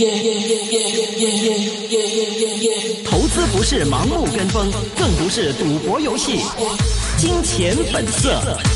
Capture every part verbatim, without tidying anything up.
投資不是盲目跟風，更不是賭博遊戲。金錢本色。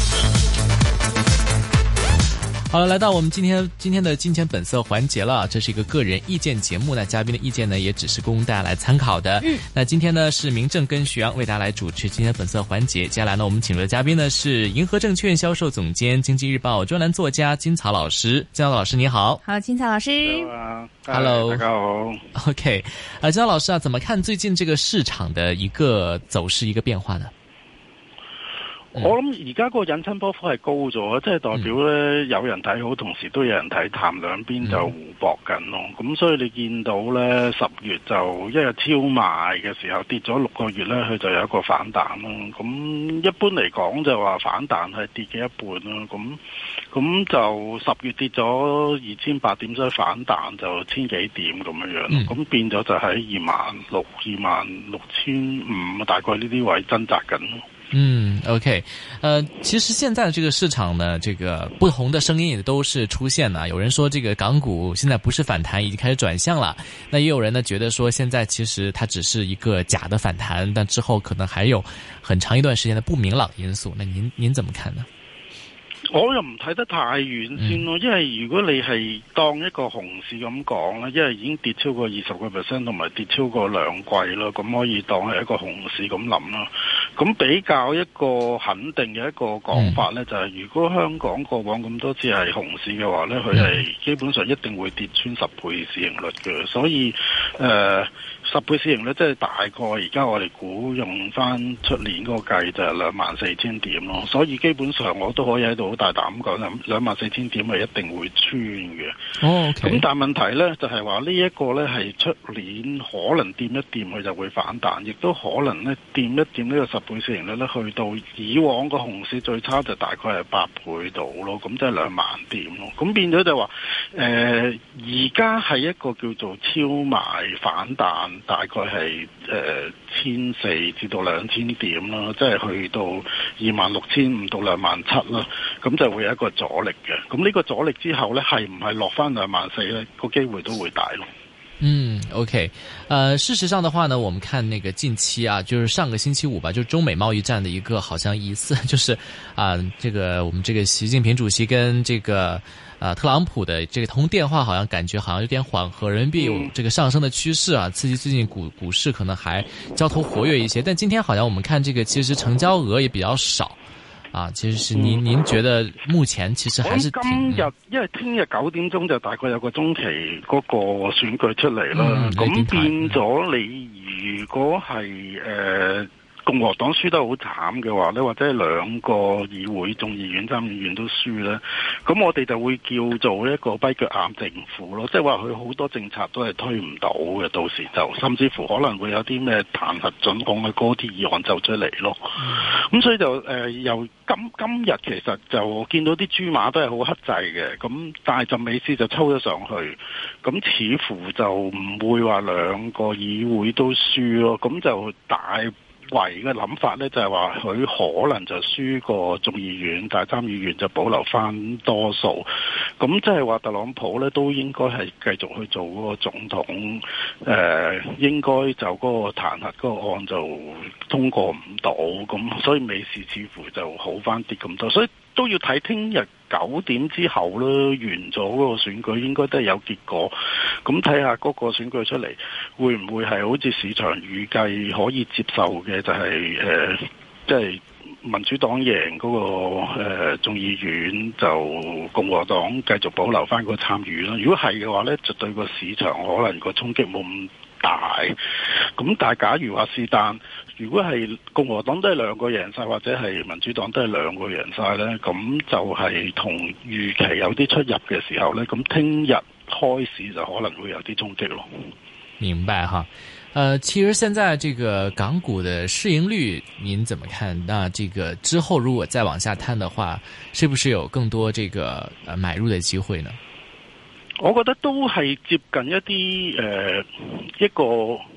好了，來到我們今天今天的金錢本色環節了。這是一個個人意見節目呢，嘉賓的意見呢也只是供大家來參考的。嗯，那今天呢是明正跟徐陽為大家來主持金錢本色環節。接下來呢，我們請出的嘉賓呢是銀河證券銷售總監、經濟日報專欄作家金曹老師。金曹老師你好。 好，金曹老師。 Hello， 大家好。 OK， 啊，金曹老師啊，怎麼看最近這個市場的一個走勢、一個變化呢？ 我諗而家個引伸波幅係高咗，即係代表咧有人睇好，同時都有人睇淡，兩邊就互搏緊咯。咁、嗯、所以你見到咧十月就一日超賣嘅時候跌咗六個月咧，佢就有一個反彈咯。咁一般嚟講就話反彈係跌嘅一半咯。咁咁就十月跌咗二千八點，所以反彈就千幾點咁樣樣。咁、嗯、變咗就喺二萬六、二萬六千五，大概呢啲位掙扎緊咯。 嗯 ，OK， 呃，其實現在的這個市場呢，這個不同的聲音也都是出現了。有人說這個港股現在不是反彈，已經開始轉向了。那也有人呢覺得說，現在其實它只是一個假的反彈，但之後可能還有很長一段時間的不明朗因素。那您您怎麼看呢？ 我又唔睇得太遠先咯，因為如果你係當一個熊市咁講啦，因為已經跌超過二十個 percent 同埋跌超過兩季啦，咁可以當係一個熊市咁諗啦。咁比較一個肯定嘅一個講法呢，就係如果香港過往咁多次係熊市嘅話呢，佢係基本上一定會跌穿十倍市盈率嘅，所以誒、呃、十倍市盈率即係大概而家我哋估用翻出年嗰個計就係兩萬四千點咯，所以基本上我都可以喺度好大膽講，兩萬四千點係一定會穿嘅。 哦，咁、okay. 但係問題呢，就係話呢一個呢係出年可能掂一掂佢就會反彈，亦都可能呢掂一掂呢個十倍市盈率呢去到以往個熊市最差就大概係八倍度咯，咁即係兩萬點咯。咁變咗就話誒，而家係一個叫做超賣反彈，大概係誒千四至到兩千點啦，即係去到二萬六千五到兩萬七啦。咁就會有一個阻力嘅，咁呢個阻力之後呢，係唔係落翻兩萬四呢？個機會都會大咯。 嗯 ，OK， 呃，事實上的話呢，我們看那個近期啊，就是上個星期五吧，就是中美貿易戰的一個好像疑似，就是啊、呃，這個我們這個習近平主席跟這個啊、呃、特朗普的這個通電話，好像感覺好像有點緩和，人民幣有這個上升的趨勢啊，刺激最近股股市可能還交投活躍一些，但今天好像我們看這個其實成交額也比較少。啊，其實是您您覺得目前其實還是挺今日，因為聽日九點鐘就大概有個中期嗰個選舉出嚟啦，咁、嗯、變咗你如果係誒。呃共和黨輸得好慘嘅話呢，或者係兩個議會眾議院、參議院都輸呢，咁我哋就會叫做一個跛腳鴨政府咯，即係話佢好多政策都係推唔到嘅，到時就甚至乎可能會有啲咩彈劾准控嘅嗰啲議案就出嚟咯。咁、嗯、所以就誒、呃、由今今日其實就見到啲豬馬都係好克制嘅，咁但係就美斯就抽咗上去，咁似乎就唔會話兩個議會都輸咯，咁就大為嘅諗法呢，就係話佢可能就輸過眾議院，但係參議院就保留翻多數。咁即係話特朗普呢，都應該係繼續去做嗰個總統。誒、呃，應該就嗰個彈劾嗰個案就通過唔到，咁所以美市似乎就好翻啲咁多。所以都要睇聽日九點之後啦，完咗嗰個選舉應該都係有結果。咁睇下嗰個選舉出嚟，會唔會係好似市場預計可以接受嘅，就係、是、誒，即、呃、係、就是、民主黨贏嗰、那個、呃、眾議院，就共和黨繼續保留翻個參與啦。如果係嘅話呢，就對個市場可能個衝擊冇咁大。咁但係假如話是但，如果係共和黨都係兩個贏晒，或者係民主黨都係兩個贏晒呢，咁就係同預期有啲出入嘅時候呢，咁聽日開始就可能會有啲衝擊咯。 明白哈，呃，其實現在這個港股的市盈率，您怎麼看？那這個之後如果再往下探的話，是不是有更多這個呃買入的機會呢？ 我覺得都係接近一啲誒、呃、一個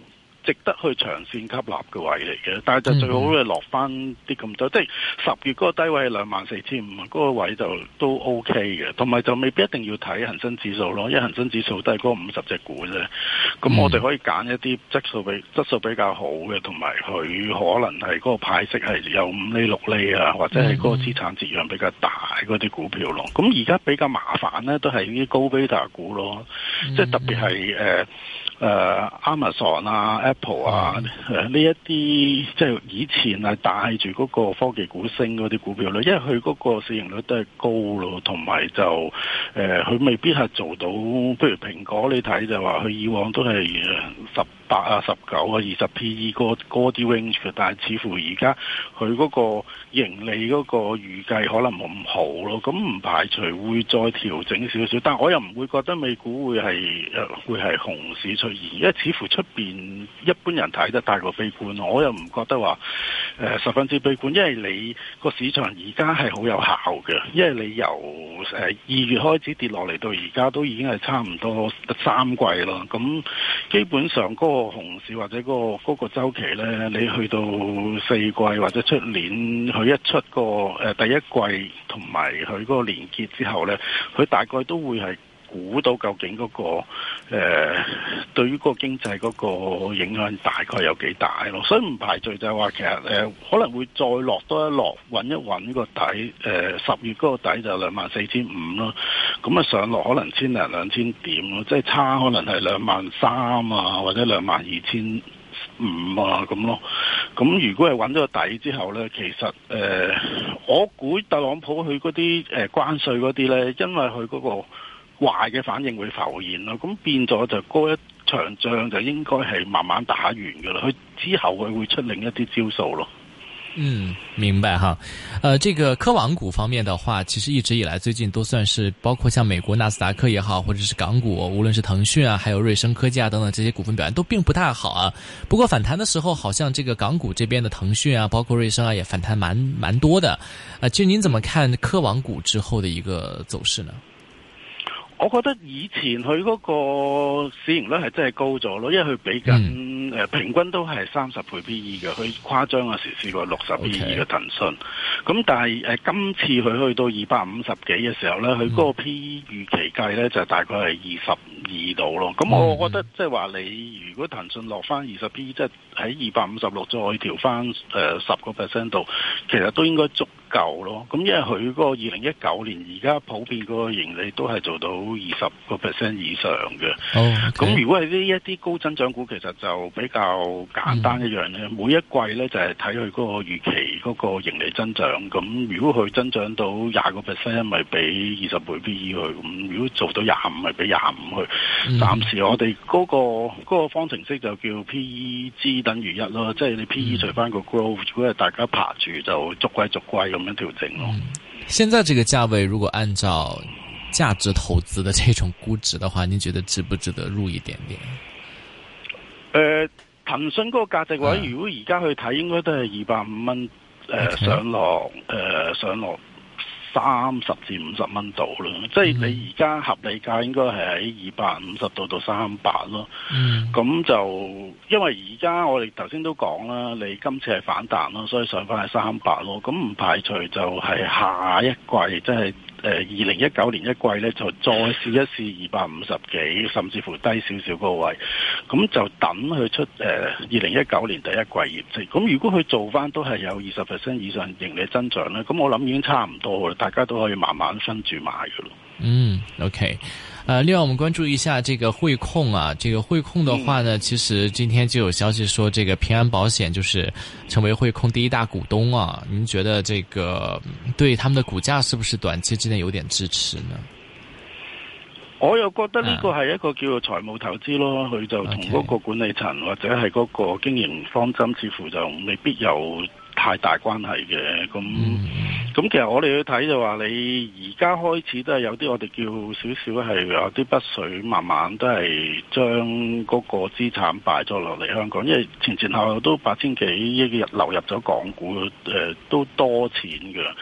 值得去長線吸納嘅位嚟嘅，但係就最好咧落翻啲咁多，嗯、即係十月嗰個低位係兩萬四千五，嗰個位就都 OK 嘅，同埋就未必一定要睇恒生指數咯，因為恒生指數都係嗰五十隻股啫。咁我哋可以揀一啲質素比質素比較好嘅，同埋佢可能係嗰個派息係有五厘六厘啊，或者係嗰個資產折讓比較大嗰啲股票咯。咁而家比較麻煩咧，都係啲高 beta 股咯，嗯、即係特別係誒。誒、uh, Amazon 啊 Apple 啊誒呢一啲即係以前係帶住嗰個科技股升嗰啲股票咧，因為佢嗰個市盈率都係高咯，同埋就誒佢、呃、未必係做到，譬如蘋果你睇就話佢以往都係十八啊十九啊二十 P E 嗰嗰啲 range 嘅，但係似乎而家佢嗰個盈利嗰個預計可能冇咁好咯，咁唔排除會再調整少少，但係我又唔會覺得美股會係誒會係熊市出現，因為似乎出邊一般人睇得太過悲觀，我又唔覺得話誒、呃、十分之悲觀，因為你個市場而家係好有效嘅，因為你由誒二月開始跌落嚟到而家都已經係差唔多三季啦，咁基本上嗰、嗰個熊市或者嗰、嗰個嗰、嗰個週期咧，你去到四季或者出年佢一出個誒、呃、第一季同埋佢嗰個連結之後咧，佢大概都會係估到究竟嗰、嗰個誒、呃、對於個經濟嗰個影響大概有幾大咯，所以唔排除就係話其實誒、呃、可能會再落多一落，揾一揾個底，誒、呃、十月嗰個底就兩萬四千五咯，咁啊上落可能千零兩千點咯，即係差可能係兩萬三啊，或者兩萬二千五啊咁咯，咁如果係揾咗個底之後呢，其實誒、呃，我估特朗普佢嗰啲誒關稅嗰啲呢，因為佢嗰個壞嘅反應會浮現咯，咁變咗就嗰一場仗就應該係慢慢打完噶啦，佢之後佢會出另一啲招數咯。 嗯，明白哈。呃，這個科網股方面的話，其實一直以來最近都算是，包括像美國納斯達克也好，或者是港股，無論是騰訊啊，還有瑞聲科技啊等等這些股份表現都並不太好啊。不過反彈的時候，好像這個港股這邊的騰訊啊，包括瑞聲啊，也反彈蠻蠻多的。啊，其實您怎麼看科網股之後的一個走勢呢？ 我覺得以前佢嗰個市盈率係真係高咗咯，因為佢比緊誒、嗯呃、平均都係三十倍 P E 嘅，佢誇張嗰時試過六十 P E 嘅騰訊。咁 Okay. 但係誒、呃、今次佢去到二百五十幾嘅時候咧，佢嗰個 P E 預期計咧就大概係二十二度咯。咁我覺得即係話你如果騰訊落翻二十 P E，即係喺二百五十六再調翻誒十個 percent 度，其實都應該足夠咯。咁因為佢嗰個二零一九年而家普遍嗰個盈利都係做到二十個 percent 以上嘅，咁、oh, okay. 如果係呢一啲高增長股，其實就比較簡單一樣咧。Mm. 每一季咧就係睇佢嗰個預期嗰個盈利增長。咁如果佢增長到廿個 percent，咪俾二十倍 P E 佢；咁如果做到廿五，咪俾廿五去。Mm. 暫時我哋嗰、嗰個嗰個方程式就叫 P E G 等於一咯，即係你 P E 除翻個 growth，、mm. 如果係大家爬住就逐季逐季咁樣調整咯。Mm. 現在這個價位，如果按照價值投資的這種估值的話，你覺得值不值得入一點點？ 誒、呃，騰訊嗰個價值位，嗯、如果而家去睇，應該都係二百五蚊誒上落，誒、呃、上落三十至五十蚊度啦。嗯、即係你而家合理價應該係喺二百五十度到三百咯。咁、嗯、就因為而家我哋頭先都講啦，你今次係反彈咯，所以上翻係三百咯。咁唔排除就係下一季即係。誒，二零一九年一季咧，就再試一試二百五十幾，甚至乎低少少個位，咁就等佢出誒二零一九年第一季業績。咁如果佢做翻都係有二十 percent 以上盈利增長咧，咁我諗已經差唔多啦，大家都可以慢慢分住買噶咯。嗯 ，OK，呃，另外我們關注一下這個匯控啊，這個匯控的話呢，嗯、其實今天就有消息說，這個平安保險就是成為匯控第一大股東啊。您覺得這個對他們的股價是不是短期之內有點支持呢？ 我又覺得呢個係一個叫做財務投資咯，佢、啊、就同嗰個管理層 Okay. 或者係嗰個經營方針，似乎就未必有太大關係嘅。咁咁、嗯、其實我哋去睇就話，你而家開始都係有啲我哋叫少少係有啲北水，慢慢都係將嗰個資產擺咗落嚟香港，因為前前後後都八千幾億流入咗港股，誒、呃、都多錢㗎。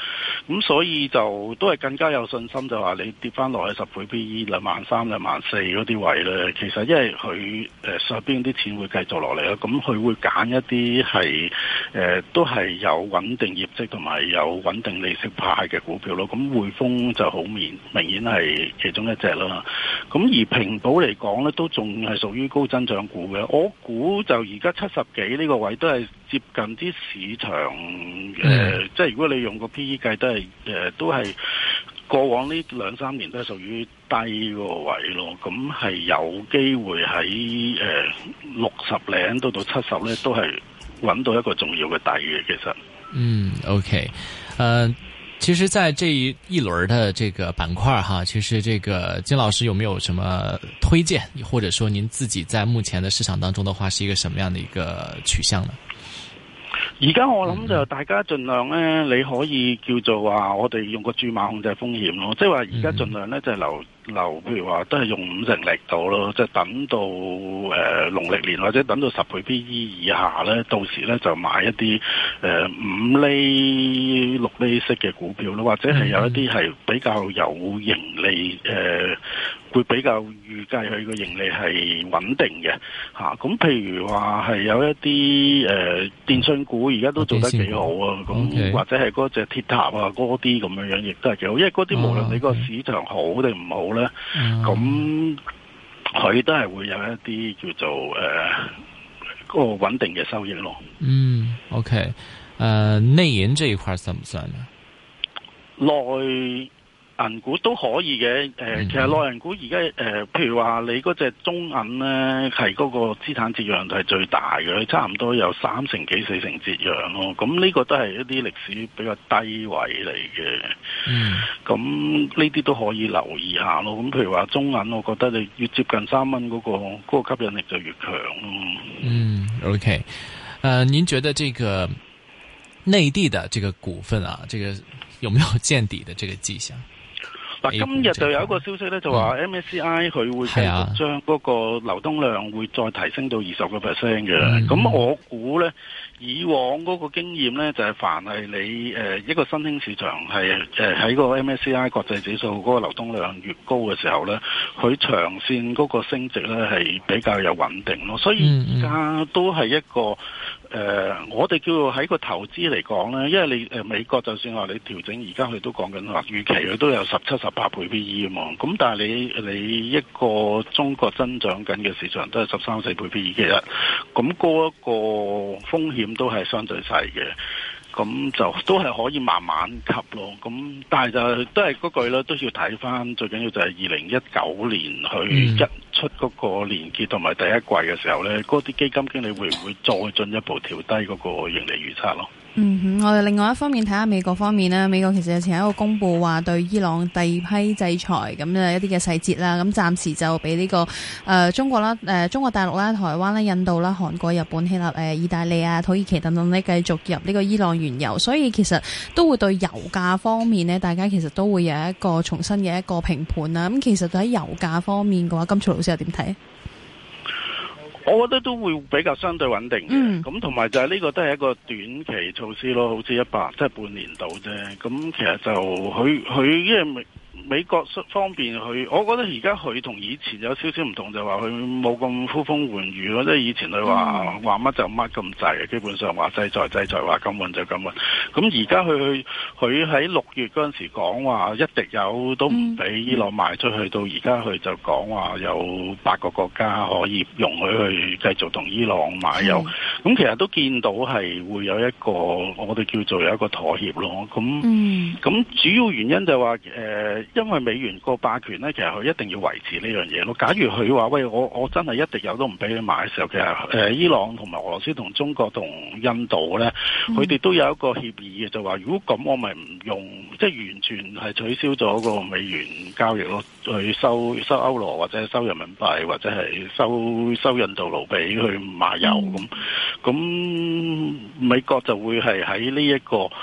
咁所以就都係更加有信心，就話你跌翻落去十倍 P E 兩萬三、兩萬四嗰啲位咧，其實因為佢誒上邊啲錢會繼續落嚟啦，咁佢會揀一啲係誒都係有穩定業績同埋有穩定利息派嘅股票咯。咁匯豐就好明明顯係其中一隻啦。咁而平保嚟講咧，都仲係屬於高增長股嘅。我估就而家七十幾呢個位都係接近啲市場誒、呃，即係如果你用個 P E 計都係誒、呃，都係過往呢兩三年都係屬於低個位咯。咁係有機會喺誒六十零到到七十咧，都係揾到一個重要嘅底嘅。其實， 嗯 ，OK， 呃。其實在這一一輪的這個板塊哈，其實這個金老師有沒有什麼推薦，或者說您自己在目前的市場當中的話，是一個什麼樣的一個取向呢？ 而家我諗就大家盡量咧，你可以叫做話我哋用個注碼控制風險咯，即係話而家盡量咧就係留留，譬如話都係用五成力度咯，即係等到誒農曆年或者等到十倍 P E 以下咧，到時咧就買一啲誒五厘六厘息嘅股票咯，或者係有一啲係比較有盈利誒。呃會比較預計佢個盈利係穩定嘅嚇，咁、啊、譬如話係有一啲誒、呃、電信股而家都做得幾好啊，咁、okay. 或者係嗰隻鐵塔啊嗰啲咁樣樣亦都係幾好，因為嗰啲無論你個市場好定唔好咧，咁佢都係會有一啲叫做誒、呃嗰個穩定嘅收益咯。 嗯 ，OK， 誒、呃、內銀這一塊算唔算呢？ 內銀股都可以嘅，誒、呃，其實內銀股而家誒，譬如話你嗰隻中銀咧，係嗰個資產折讓係最大嘅，差唔多有三成幾四成折讓咯。咁呢個都係一啲歷史比較低位嚟嘅。嗯，咁呢啲都可以留意下咯。咁譬如話中銀，我覺得你越接近三蚊嗰個嗰、嗰個吸引力就越強咯。嗯 ，OK， 呃，您覺得這個內地的這個股份啊，這個有沒有見底的這個跡象？ 嗱，今日就有一個消息咧，就話 M S C I 佢會繼續將嗰個流通量會再提升到二十個 percent 嘅。咁我估咧，以往嗰個經驗咧，就係凡係你誒一個新興市場係誒喺個 M S C I 國際指數嗰個流通量越高嘅時候咧，佢長線嗰個升值咧係比較有穩定咯。所以而家都係一個。誒、呃，我哋叫做喺個投資嚟講咧，因為你誒、呃、美國就算話你調整，而家佢都講緊話預期佢都有十七、十八倍 P E 啊嘛。咁但係你你一個中國增長緊嘅市場都係十三四倍 P E 嘅，咁嗰一個風險都係相對細嘅。咁就都係可以慢慢吸咯。咁但係就都係嗰句啦，都要睇翻最緊要就係二零一九年去一出嗰個年結同埋第一季嘅時候咧，嗰、嗯、啲基金經理會唔會再進一步調低嗰個盈利預測咯？ 嗯哼，我哋另外一方面睇下美國方面啦。美國其實日前有一個公佈話對伊朗第二批制裁咁嘅一啲嘅細節啦。咁暫時就俾呢、這個誒、呃、中國啦、誒、呃、中國大陸啦、台灣啦、印度啦、韓國、日本、希臘、誒意大利啊、土耳其等等呢繼續入呢個伊朗原油。所以其實都會對油價方面呢，大家其實都會有一個重新嘅一個評判啦。咁其實喺油價方面嘅話，金曹老師又點睇？ 我覺得都會比較相對穩定嘅，咁同埋就係呢個都係一個短期措施咯，好似一百即係半年度啫。咁其實就佢佢因為美美國方面佢，我覺得而家佢同以前有少少唔同，就話佢冇咁呼風喚雨咯。即係以前佢話話乜就乜咁滯，基本上話制裁制裁話咁運就咁運。咁而家佢佢喺六月嗰陣時講話一滴油都唔俾伊朗賣出去，到而家佢就講話有八個國家可以容許去繼續同伊朗買油。咁其實都見到係會有一個我哋叫做有一個妥協咯。咁咁主要原因就話誒。呃因為美元個霸權咧，其實佢一定要維持呢樣嘢咯。假如佢話喂，我我真係一滴油都唔俾你買嘅時候，其實誒、呃、伊朗同埋俄羅斯同中國同印度咧，佢哋都有一個協議嘅，就話如果咁，我咪唔用，即係完全係取消咗個美元交易咯，去收收歐羅或者收人民幣或者係收收印度盧比去買油咁。咁美國就會係喺呢一個。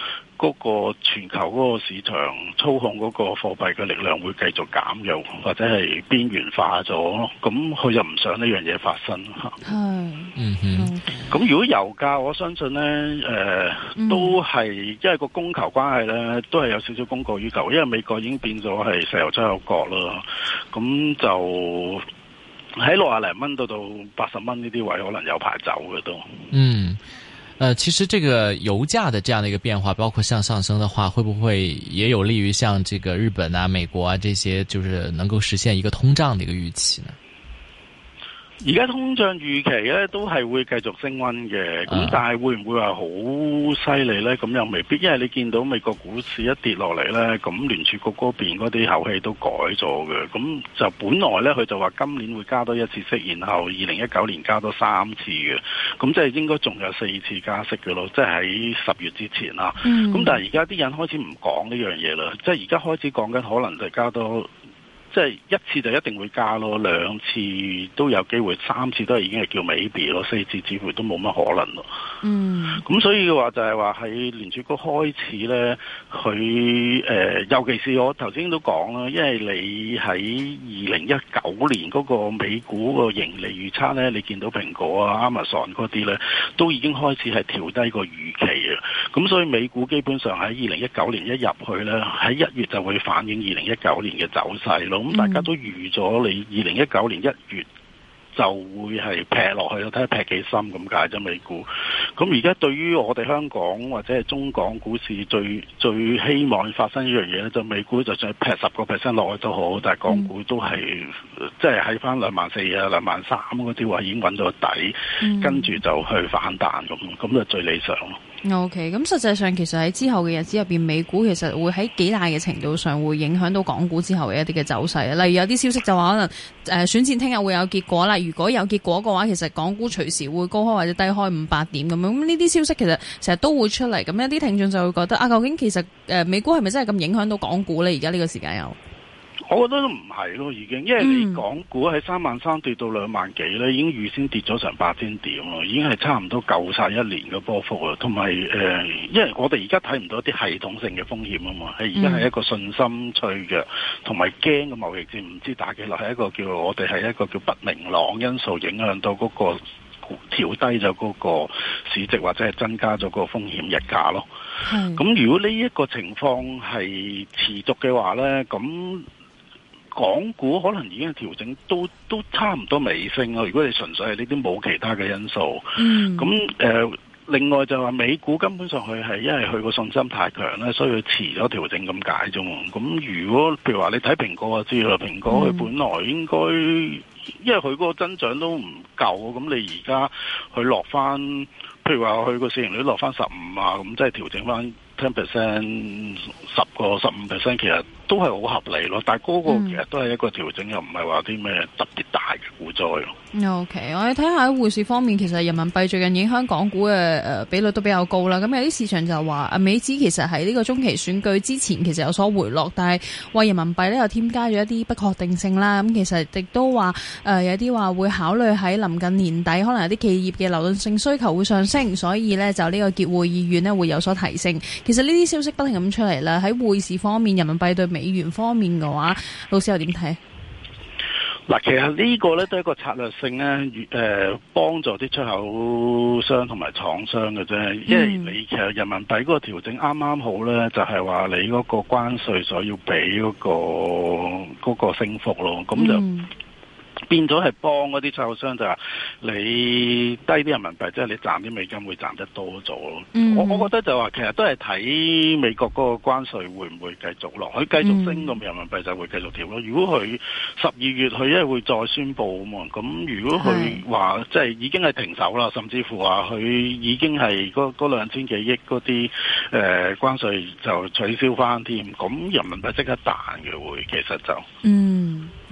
嗰個全球嗰個市場操控嗰個貨幣嘅力量會繼續減弱，或者係邊緣化咗咯。咁佢就唔想呢樣嘢發生嚇。 係， 嗯哼。 咁如果油價，我相信咧，誒、呃嗯、都係因為個供求關係咧，都係有少少供過於求，因為美國已經變咗係石油出口國啦。咁就喺六十零蚊到到八十蚊呢啲位，可能有排走嘅都。 嗯。呃，其實這個油價的這樣的一個變化，包括向上升的話，會不會也有利於像這個日本啊、美國啊這些，就是能夠實現一個通脹的一個預期呢？ 而家通脹預期咧都係會繼續升溫嘅，咁但係會唔會話好犀利咧？咁又未必，因為你見到美國股市一跌落嚟咧，咁聯儲局嗰邊嗰啲口氣都改咗嘅，咁就本來咧佢就話今年會加多一次息，然後二零一九年加多三次嘅，咁即係應該仲有四次加息嘅咯，即係喺十月之前啦。咁、嗯、但係而家啲人開始唔講呢樣嘢啦，即係而家開始講緊可能就加多。即係一次就一定會加咯，兩次都有機會，三次都係已經係叫 maybe 咯，四次似乎都冇乜可能咯。嗯，咁所以嘅話就係話喺聯儲局開始咧，佢誒、呃，尤其是我頭先都講啦，因為你喺二零一九年嗰個美股個盈利預測咧，你見到蘋果啊、Amazon 嗰啲咧，都已經開始係調低個預期啊。咁所以美股基本上喺二零一九年一入去咧，喺一月就會反映二零一九年嘅走勢咯。咁大家都預咗你二零一九年一月就會係劈落去咯，睇下劈幾深咁解啫美股。咁而家對於我哋香港或者係中港股市最最希望發生一樣嘢咧，就美股就算劈十個 percent 落去都好，但係港股都係即係喺翻兩萬四啊、兩萬三嗰啲位已經揾到底，嗯、跟住就去反彈咁，咁就最理想咯。 OK，咁實際上其實喺之後嘅日子入邊，美股其實會喺幾大嘅程度上會影響到港股之後嘅一啲嘅走勢。例如有啲消息就話可能誒、呃、選戰聽日會有結果啦，如果有結果嘅話，其實港股隨時會高開或者低開五百點咁樣。咁呢啲消息其實成日都會出嚟，咁一啲聽眾就會覺得啊，究竟其實誒、呃、美股係咪真係咁影響到港股咧？而家呢個時間有？ 我覺得都唔係咯，已經，因為你港股喺三萬三跌到兩萬幾咧，已經預先跌咗成八千點咯，已經係差唔多夠晒一年嘅波幅啦。同埋誒，因為我哋而家睇唔到一啲系統性嘅風險啊嘛，係而家係一個信心脆弱，同埋驚嘅貿易戰唔知打幾耐，係一個叫我哋係一個叫不明朗因素影響到嗰個調低咗嗰個市值或者係增加咗個風險溢價咯。咁如果呢一個情況係持續嘅話咧，咁港股可能已經調整都都差唔多尾聲咯。如果你純粹係呢啲冇其他嘅因素，咁、嗯、誒、呃，另外就話美股根本上佢係因為佢個信心太強咧，所以佢遲咗調整咁解啫。咁如果譬如話你睇蘋果就知啦，蘋果佢本來應該、嗯、因為佢嗰個增長都唔夠，咁你而家佢落翻，譬如話佢個市盈率落翻十五啊，咁即係調整翻ten percent 十個十五 percent， 其實都係好合理咯。但係嗰個其實都係一個調整，嗯、又唔係話啲咩特別大嘅股災咯。OK， 我哋睇下喺匯市方面，其實人民幣最近影響港股嘅誒比率都比較高啦。咁有啲市場就話啊，美指其實喺呢個中期選舉之前其實有所回落，但係話人民幣咧又添加咗一啲不確定性啦。咁其實亦都話誒、呃、有啲話會考慮喺臨近年底，可能有啲企業嘅流動性需求會上升，所以咧就呢個結匯意願咧會有所提升。其實呢啲消息不停咁出嚟啦。喺匯市方面，人民幣對美元方面嘅話，老師又點睇？ 嗱，其實呢個咧都係一個策略性咧，誒、呃、幫助啲出口商同埋廠商嘅啫。因為你其實人民幣嗰個調整啱啱好咧，就係話你嗰個關稅所要俾嗰個嗰個升幅咯，咁就。嗯變咗係幫嗰啲出口商，就係你低啲人民幣，即係你賺啲美金會賺得多咗咯。Mm-hmm. 我我覺得就話其實都係睇美國嗰個關稅會唔會繼續落，佢繼續升咁人民幣就會繼續調咯。如果佢十二月佢因為會再宣佈啊嘛，咁如果佢話即係已經係停手啦，甚至乎話佢已經係嗰嗰兩千幾億嗰啲誒關稅就取消翻添，咁人民幣即刻彈嘅會，其實就嗯。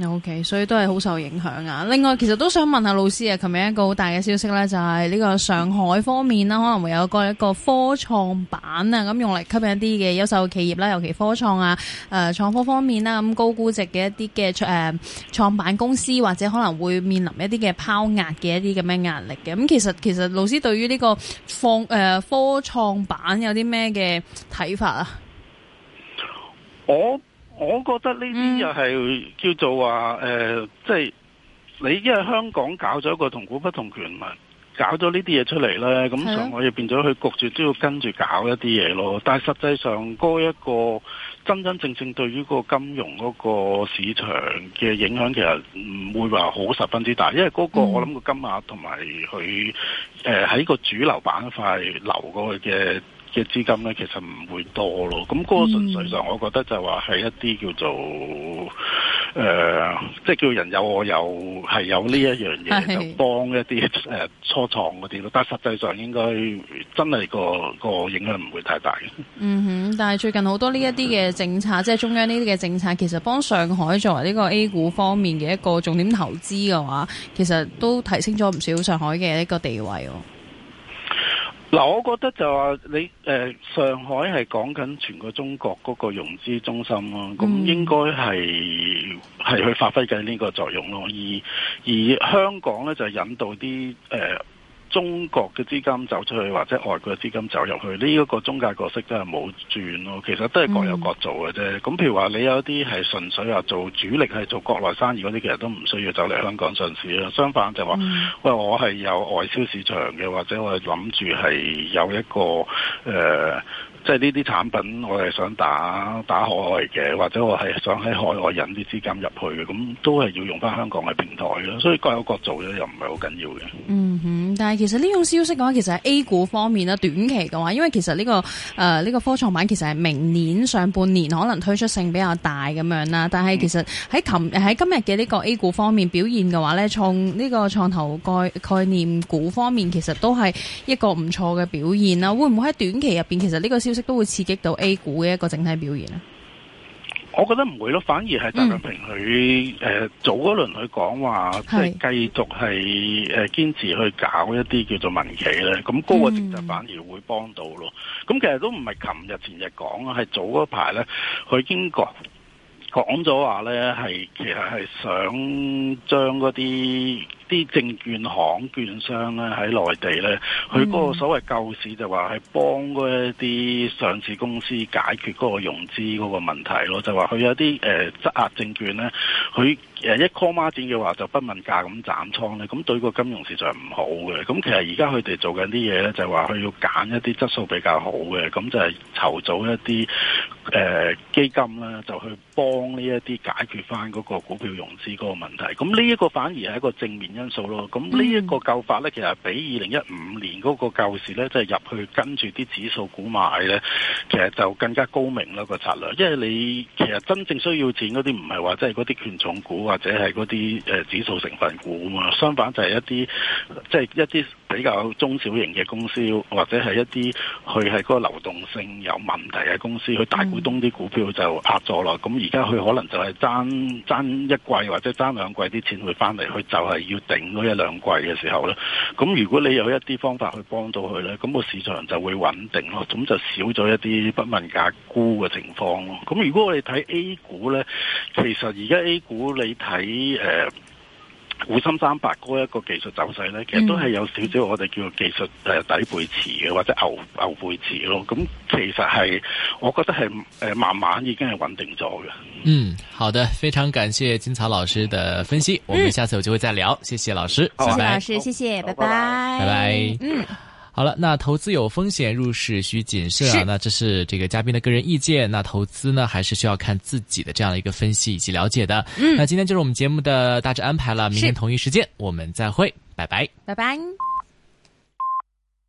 OK， 所以都係好受影響啊。另外，其實都想問下老師啊，琴日一個好大嘅消息咧，就係呢個上海方面啦，可能會有個一個科創板啊，咁用嚟吸引一啲嘅優秀企業啦，尤其科創啊、誒、呃、創科方面啦，咁高估值嘅一啲嘅誒創辦公司，或者可能會面臨一啲嘅拋壓嘅一啲咁嘅壓力嘅。咁其實其實老師對於呢個放誒、呃、科創板有啲咩嘅睇法啊？ 我我覺得呢啲又係叫做話誒、呃，即係你因為香港搞咗一個同股不同權嘛，搞咗呢啲嘢出嚟咧，咁上海就變咗佢焗住都要跟住搞一啲嘢咯。但係實際上嗰一個真真正正對於個金融嗰個市場嘅影響，其實唔會話好十分之大，因為嗰個我諗個金額同埋佢誒喺個主流板塊流過去嘅嘅資金咧，其實唔會多咯。咁嗰個純粹上，我覺得就話係一啲叫做誒、呃，即係叫人有我有係有呢一樣嘢，就幫一啲誒、呃、初創嗰啲咯。但係實際上應該真係個個影響唔會太大嘅。 嗯哼，但係最近好多呢一啲嘅政策，即係中央呢啲嘅政策，其實幫上海作為呢個 A 股方面嘅一個重點投資嘅話，其實都提升咗唔少上海嘅一個地位。 嗱，我覺得就話你誒、呃、上海係講緊全個中國嗰個融資中心咯，咁、嗯、應該係係去發揮緊呢個作用咯。而而香港咧就引導啲誒、呃、中國嘅資金走出去，或者外國嘅資金走入去，呢、這、一個中介角色真係冇轉咯。其實都係各有各做嘅啫。咁、嗯、譬如話你有啲係純粹話做主力係做國內生意嗰啲，其實都唔需要走嚟香港上市啦。相反就話，嗯、喂，我係有外銷市場嘅，或者我係諗住係有一個誒。呃即係呢啲產品，我係想打打海外嘅，或者我係想喺海外引啲資金入去嘅，咁都係要用翻香港嘅平台咯。所以各有各做咧，又唔係好緊要嘅。嗯哼，但係其實呢種消息嘅話，其實喺 A 股方面啦，短期嘅話，因為其實呢、這個誒呢、呃這個科創板其實係明年上半年可能推出性比較大咁樣啦。但係其實喺琴喺今日嘅呢個 A 股方面表現嘅話咧，創呢個創投概概念股方面其實都係一個唔錯嘅表現啦。會唔會喺短期入邊，其實呢個消息都會刺激到 A 股嘅一個整體表現咧？ 我覺得唔會咯，反而係習近平佢誒早嗰輪佢講話，即係繼續係誒堅持去搞一啲叫做民企咧，咁嗰個政策反而會幫到咯。咁、嗯、其實都唔係琴日前日講啊，係早嗰排咧，佢已經講講咗話咧，係其實係想將嗰啲啲證券行券商咧喺內地咧，佢嗰個所謂救市就話係幫嗰一啲上市公司解決嗰個融資嗰個問題咯，就話佢有啲誒質押證券咧，佢誒一 call 孖展嘅話就不問價咁斬倉咧，咁對個金融市場唔好嘅。咁其實而家佢哋做緊啲嘢咧，就話佢要揀一啲質素比較好嘅，咁就係籌組一啲誒、呃、基金啦，就去幫呢一啲解決翻嗰個股票融資嗰個問題。咁呢一個反而係一個正面因素咯。咁呢一個救法咧，其實比二零一五年嗰個救市咧，即係入去跟住啲指數股買咧，其實就更加高明啦個策略。因為你其實真正需要錢嗰啲唔係話即係嗰啲權重股或者係嗰啲誒指數成分股啊嘛，相反就係一啲即係一啲比較中小型嘅公司，或者係一啲佢係嗰個流動性有問題嘅公司，佢大股東啲股票就壓咗啦。咁而家佢可能就係爭爭一季或者爭兩季啲錢會翻嚟，佢就係要頂嗰一兩季嘅時候咧。咁如果你有一啲方法去幫到佢咧，咁個市場就會穩定咯，咁就少咗一啲不問價沽嘅情況咯。咁如果我哋睇 A 股咧，其實而家 A 股你睇誒滬深三百嗰一個技術走勢咧，其實都係有少少我哋叫做技術誒底背馳嘅，或者牛牛背馳咯。咁其實係我覺得係誒慢慢已經係穩定咗嘅。 嗯，好的，非常感謝金曹老師的分析，我們下次有機會再聊。嗯、謝謝老師， 謝謝拜拜。 老師，謝謝，拜拜， 拜拜。 嗯。 好了，那投資有風險，入市需謹慎啊。那這是這個嘉賓的個人意見，那投資呢，還是需要看自己的這樣的一個分析以及了解的。嗯，那今天就是我們節目的大致安排了，明天同一時間我們再會，拜拜， 拜拜。